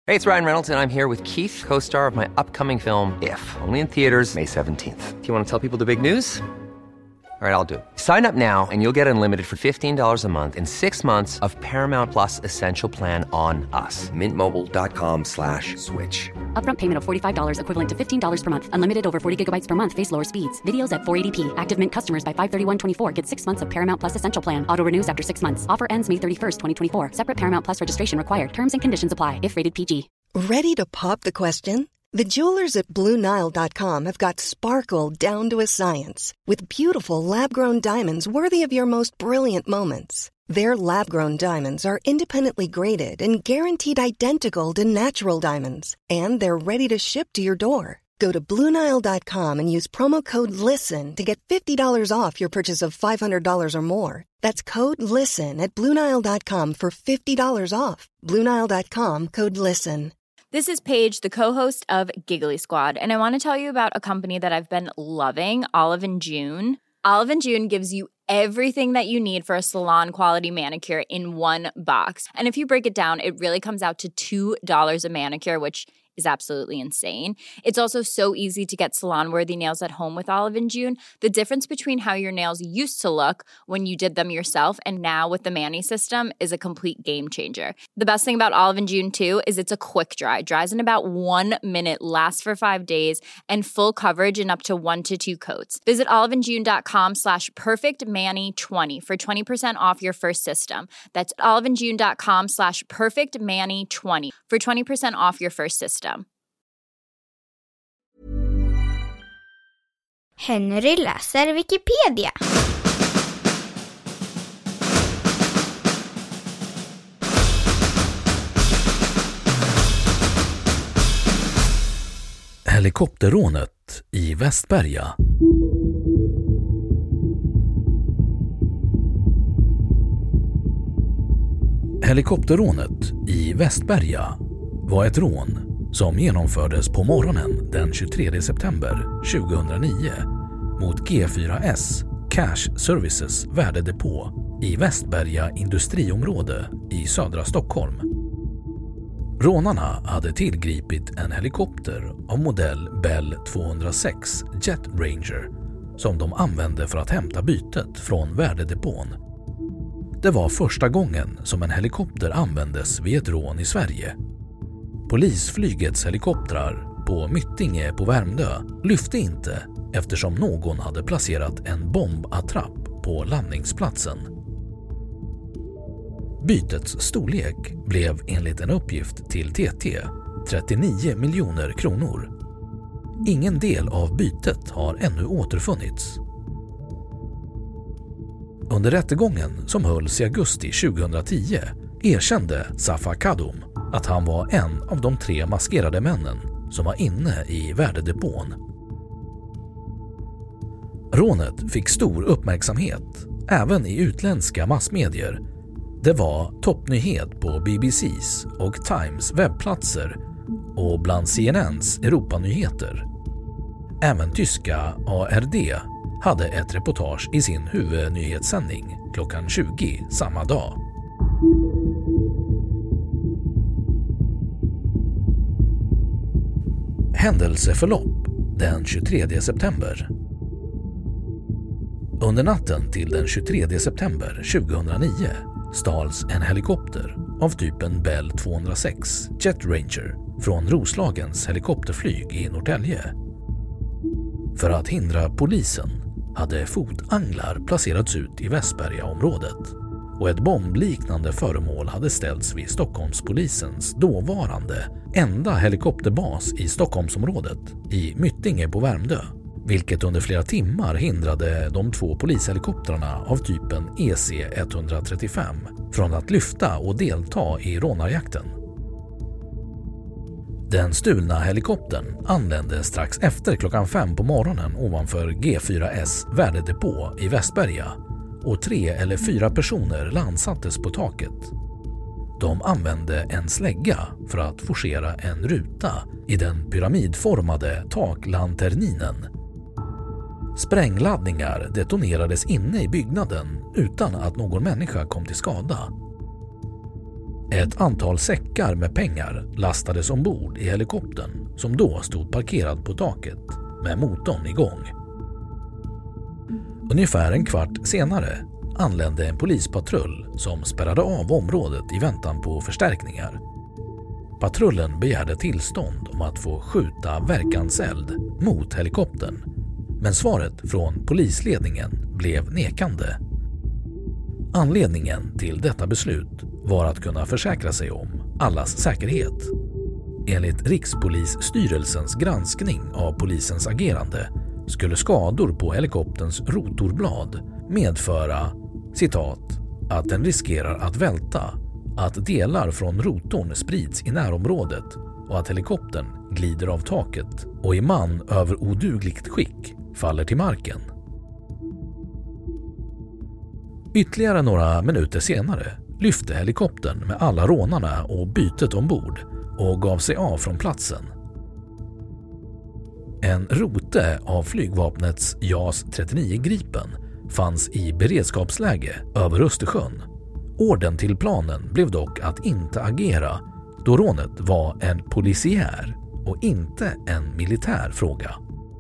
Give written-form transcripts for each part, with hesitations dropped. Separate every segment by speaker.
Speaker 1: Hey, it's Ryan Reynolds, and I'm here with Keith, co-star of my upcoming film, If, only in theaters May 17th. Do you want to tell people the big news? All right, I'll do it. Sign up now and you'll get unlimited for $15 a month and 6 months of Paramount Plus Essential Plan on us. MintMobile.com/switch.
Speaker 2: Upfront payment of $45 equivalent to $15 per month. Unlimited over 40 gigabytes per month. Face lower speeds. Videos at 480p. Active Mint customers by 531.24 get 6 months of Paramount Plus Essential Plan. Auto renews after 6 months. Offer ends May 31st, 2024. Separate Paramount Plus registration required. Terms and conditions apply if rated PG.
Speaker 3: Ready to pop the question? The jewelers at BlueNile.com have got sparkle down to a science with beautiful lab-grown diamonds worthy of your most brilliant moments. Their lab-grown diamonds are independently graded and guaranteed identical to natural diamonds, and they're ready to ship to your door. Go to BlueNile.com and use promo code LISTEN to get $50 off your purchase of $500 or more. That's code LISTEN at BlueNile.com for $50 off. BlueNile.com, code LISTEN.
Speaker 4: This is Paige, the co-host of Giggly Squad, and I want to tell you about a company that I've been loving, Olive & June. Olive & June gives you everything that you need for a salon-quality manicure in one box. And if you break it down, it really comes out to $2 a manicure, which is absolutely insane. It's also so easy to get salon-worthy nails at home with Olive & June. The difference between how your nails used to look when you did them yourself and now with the Mani system is a complete game changer. The best thing about Olive & June, too, is it's a quick dry. Dries in about 1 minute, lasts for 5 days, and full coverage in up to 1 to 2 coats. Visit oliveandjune.com/perfectmani20 for 20% off your first system. That's oliveandjune.com/perfectmani20 for 20% off your first system.
Speaker 5: Henry läser Wikipedia.
Speaker 6: Helikopterrånet i Västberga. Helikopterrånet i Västberga var ett rån som genomfördes på morgonen den 23 september 2009 mot G4S Cash Services värdedepå i Västberga industriområde i södra Stockholm. Rånarna hade tillgripit en helikopter av modell Bell 206 Jet Ranger som de använde för att hämta bytet från värdedepån. Det var första gången som en helikopter användes vid ett rån i Sverige. Polisflygets helikoptrar på Myttinge på Värmdö lyfte inte eftersom någon hade placerat en bombattrapp på landningsplatsen. Bytets storlek blev enligt en uppgift till TT 39 miljoner kronor. Ingen del av bytet har ännu återfunnits. Under rättegången som hölls i augusti 2010 erkände Safa Kadum att han var en av de 3 maskerade männen som var inne i värdedepån. Rånet fick stor uppmärksamhet även i utländska massmedier. Det var toppnyhet på BBC:s och Times webbplatser och bland CNNs Europanyheter. Även tyska ARD hade ett reportage i sin huvudnyhetssändning klockan 20 samma dag. Händelseförlopp den 23 september. Under natten till den 23 september 2009 stals en helikopter av typen Bell 206 Jet Ranger från Roslagens helikopterflyg i Norrtälje. För att hindra polisen hade fotanglar placerats ut i Västbergaområdet och ett bombliknande föremål hade ställts vid Stockholmspolisens dåvarande enda helikopterbas i Stockholmsområdet i Myttinge på Värmdö, vilket under flera timmar hindrade de 2 polishelikoptrarna av typen EC-135 från att lyfta och delta i rånarjakten. Den stulna helikoptern anlände strax efter klockan 5 på morgonen ovanför G4S värdedepå i Västberga och 3 eller 4 personer landsattes på taket. De använde en slägga för att forcera en ruta i den pyramidformade taklanterninen. Sprängladdningar detonerades inne i byggnaden utan att någon människa kom till skada. Ett antal säckar med pengar lastades ombord i helikoptern som då stod parkerad på taket med motorn igång. Ungefär en kvart senare anlände en polispatrull som spärrade av området i väntan på förstärkningar. Patrullen begärde tillstånd om att få skjuta verkanseld mot helikoptern, men svaret från polisledningen blev nekande. Anledningen till detta beslut var att kunna försäkra sig om allas säkerhet. Enligt Rikspolisstyrelsens granskning av polisens agerande skulle skador på helikopterns rotorblad medföra, citat, att den riskerar att välta, att delar från rotorn sprids i närområdet och att helikoptern glider av taket och i man över odugligt skick faller till marken. Ytterligare några minuter senare lyfte helikoptern med alla rånarna och bytet ombord och gav sig av från platsen. En rote av flygvapnets JAS 39 Gripen fanns i beredskapsläge över Östersjön. Orden till planen blev dock att inte agera då rånet var en polisiär och inte en militär fråga.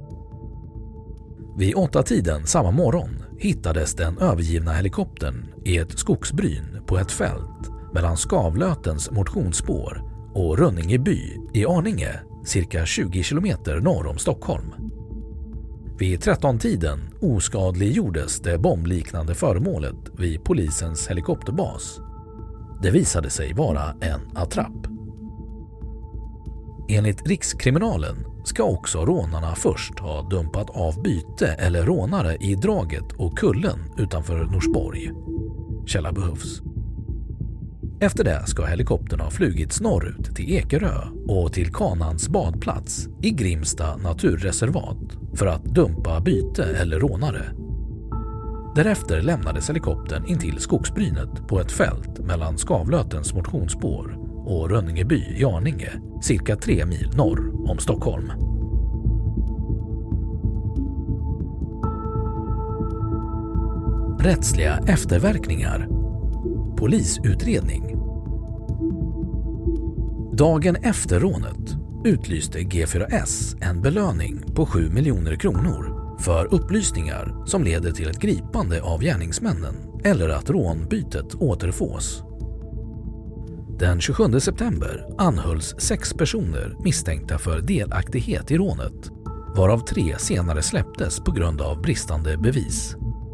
Speaker 6: Vid 8-tiden samma morgon hittades den övergivna helikoptern i ett skogsbryn på ett fält mellan Skavlötens motionsspår och Rönninge by i Arninge, cirka 20 kilometer norr om Stockholm. Vid 13-tiden oskadliggjordes det bombliknande föremålet vid polisens helikopterbas. Det visade sig vara en attrapp. Enligt Rikskriminalen ska också rånarna först ha dumpat av byte eller rånare i draget och kullen utanför Norsborg. Källa behövs. Efter det ska helikoptern ha flugits norrut till Ekerö och till Kanans badplats i Grimsta naturreservat för att dumpa byte eller rånare. Därefter lämnades helikoptern in till skogsbrynet på ett fält mellan Skavlötens motionsspår och Rönningeby i Arninge, cirka 3 mil norr om Stockholm. Rättsliga efterverkningar. Polisutredning. Dagen efter rånet utlyste G4S en belöning på 7 miljoner kronor för upplysningar som leder till ett gripande av gärningsmännen eller att rånbytet återfås. Den 27 september anhölls 6 personer misstänkta för delaktighet i rånet, varav 3 senare släpptes på grund av bristande bevis.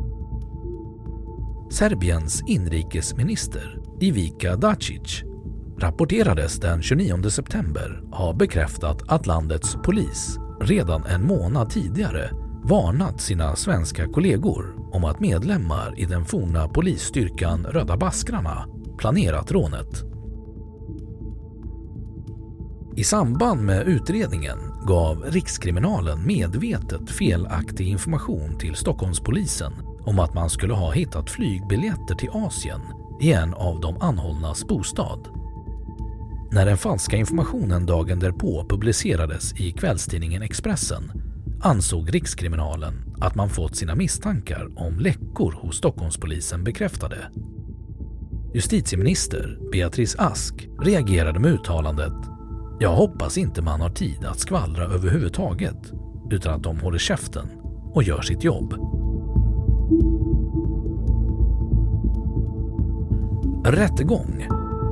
Speaker 6: Serbiens inrikesminister Ivica Dačić rapporterades den 29 september ha bekräftat att landets polis redan en månad tidigare varnat sina svenska kollegor om att medlemmar i den forna polisstyrkan Röda Baskrarna planerat rånet. I samband med utredningen gav Rikskriminalen medvetet felaktig information till Stockholmspolisen om att man skulle ha hittat flygbiljetter till Asien i en av de anhållnas bostad. När den falska informationen dagen därpå publicerades i kvällstidningen Expressen ansåg Rikskriminalen att man fått sina misstankar om läckor hos Stockholmspolisen bekräftade. Justitieminister Beatrice Ask reagerade med uttalandet: "Jag hoppas inte man har tid att skvallra överhuvudtaget, utan att de håller käften och gör sitt jobb." Rättegång.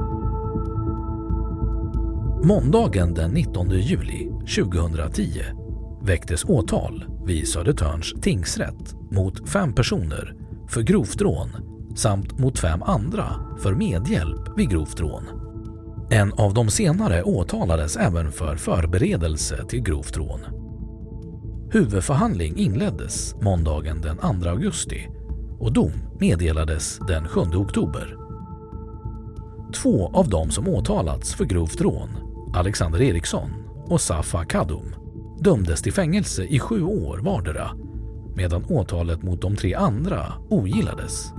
Speaker 6: Måndagen den 19 juli 2010 väcktes åtal vid Södertörns tingsrätt mot 5 personer för grovt rån samt mot 5 andra för medhjälp vid grovt rån. En av de senare åtalades även för förberedelse till grovt rån. Huvudförhandling inleddes måndagen den 2 augusti och dom meddelades den 7 oktober. 2 av dem som åtalats för grovt rån, Alexander Eriksson och Safa Kadum, dömdes till fängelse i 7 år vardera, medan åtalet mot de 3 andra ogillades.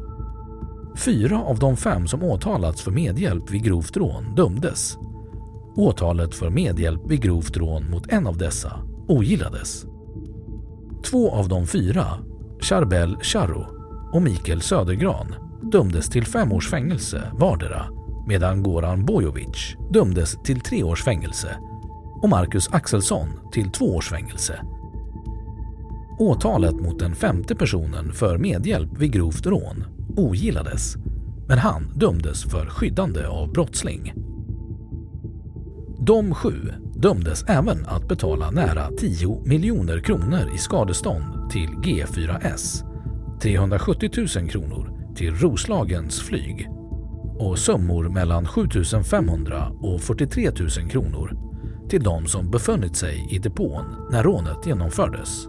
Speaker 6: 4 av de 5 som åtalats för medhjälp vid grovt rån dömdes. Åtalet för medhjälp vid grovt rån mot en av dessa ogillades. 2 av de 4, Charbel Charro och Mikael Södergran, dömdes till 5 års fängelse vardera, medan Goran Bojovic dömdes till 3 års fängelse och Marcus Axelsson till 2 års fängelse. Åtalet mot den 5:e personen för medhjälp vid grovt rån ogillades, men han dömdes för skyddande av brottsling. De 7 dömdes även att betala nära 10 miljoner kronor i skadestånd till G4S, 370 000 kronor till Roslagens flyg och summor mellan 7 500 och 43 000 kronor till de som befunnit sig i depån när rånet genomfördes.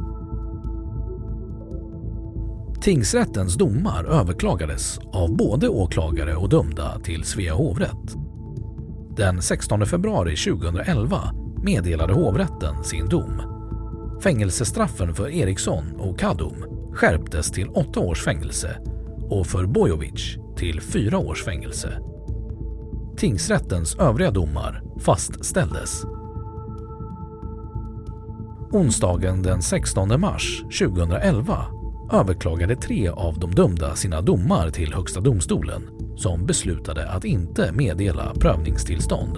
Speaker 6: Tingsrättens domar överklagades av både åklagare och dömda till Svea hovrätt. Den 16 februari 2011 meddelade hovrätten sin dom. Fängelsestraffen för Eriksson och Kadum skärptes till 8 års fängelse och för Bojovic till 4 års fängelse. Tingsrättens övriga domar fastställdes. Onsdagen den 16 mars 2011 överklagade 3 av de dömda sina domar till Högsta domstolen, som beslutade att inte meddela prövningstillstånd.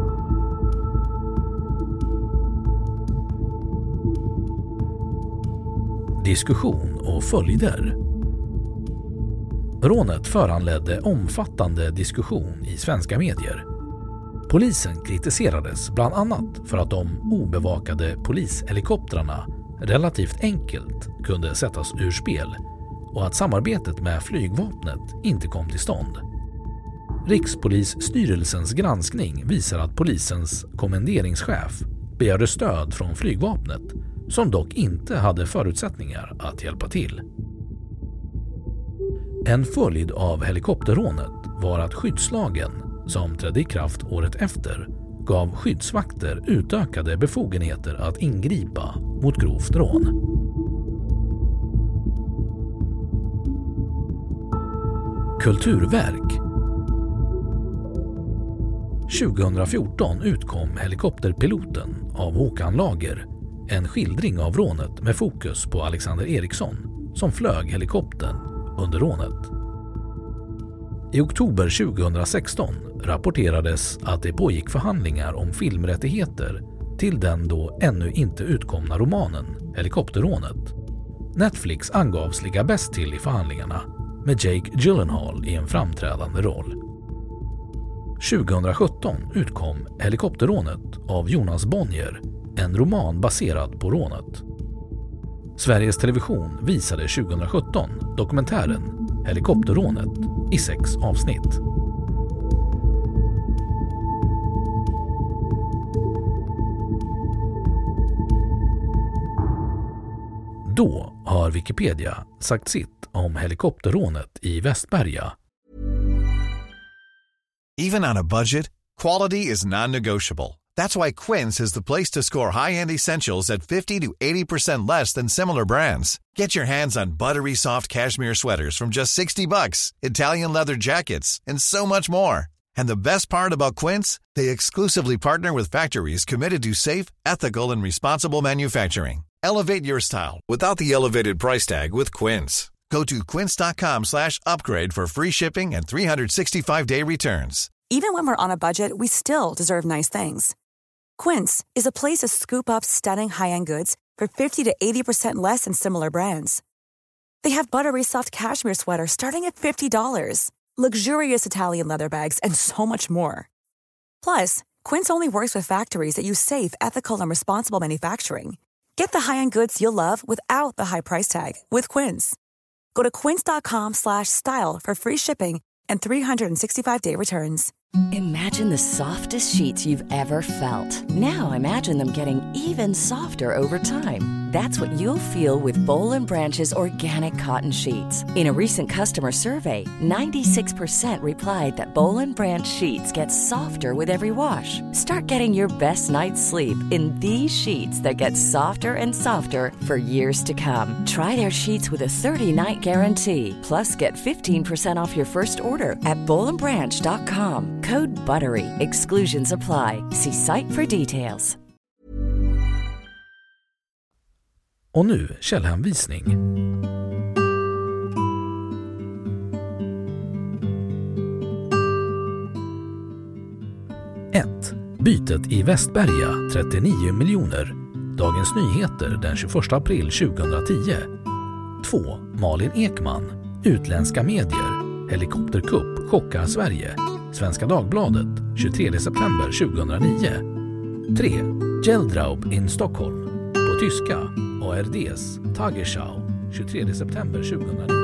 Speaker 6: Diskussion och följder. Rånet föranledde omfattande diskussion i svenska medier. Polisen kritiserades bland annat för att de obevakade polishelikoptrarna relativt enkelt kunde sättas ur spel och att samarbetet med flygvapnet inte kom till stånd. Rikspolisstyrelsens granskning visar att polisens kommenderingschef begärde stöd från flygvapnet, som dock inte hade förutsättningar att hjälpa till. En följd av helikopterrånet var att skyddslagen, som trädde i kraft året efter, gav skyddsvakter utökade befogenheter att ingripa mot grovt rån. Kulturverk. 2014 utkom Helikopterpiloten av Håkan Lager, en skildring av rånet med fokus på Alexander Eriksson som flög helikoptern under rånet. I oktober 2016 rapporterades att det pågick förhandlingar om filmrättigheter till den då ännu inte utkomna romanen Helikopterrånet. Netflix angavs ligga bäst till i förhandlingarna, med Jake Gyllenhaal i en framträdande roll. 2017 utkom Helikopterrånet av Jonas Bonnier, en roman baserad på rånet. Sveriges Television visade 2017 dokumentären Helikopterrånet i 6 avsnitt. Då har Wikipedia sagt sitt om helikopterrånet i Västberga.
Speaker 7: Even on a budget, quality is non-negotiable. That's why Quince is the place to score high-end essentials at 50 to 80% less than similar brands. Get your hands on buttery soft cashmere sweaters from just $60, Italian leather jackets, and so much more. And the best part about Quince, they exclusively partner with factories committed to safe, ethical, and responsible manufacturing. Elevate your style without the elevated price tag with Quince. Go to quince.com/upgrade for free shipping and 365-day returns.
Speaker 8: Even when we're on a budget, we still deserve nice things. Quince is a place to scoop up stunning high-end goods for 50 to 80% less than similar brands. They have buttery soft cashmere sweaters starting at $50, luxurious Italian leather bags, and so much more. Plus, Quince only works with factories that use safe, ethical, and responsible manufacturing. Get the high-end goods you'll love without the high price tag with Quince. Go to quince.com/style for free shipping and 365-day returns.
Speaker 9: Imagine the softest sheets you've ever felt. Now imagine them getting even softer over time. That's what you'll feel with Boll & Branch's organic cotton sheets. In a recent customer survey, 96% replied that Boll & Branch sheets get softer with every wash. Start getting your best night's sleep in these sheets that get softer and softer for years to come. Try their sheets with a 30-night guarantee. Plus, get 15% off your first order at bollandbranch.com. Code BUTTERY. Exclusions apply. See site for details.
Speaker 6: Och nu källhänvisning. 1. Bytet i Västberga 39 miljoner. Dagens Nyheter den 21 april 2010. 2. Malin Ekman. Utländska medier. Helikopterkupp chockar Sverige. Svenska Dagbladet 23 september 2009. 3. Geldraub in Stockholm. På tyska ARDs Tagesschau 23 september 2009.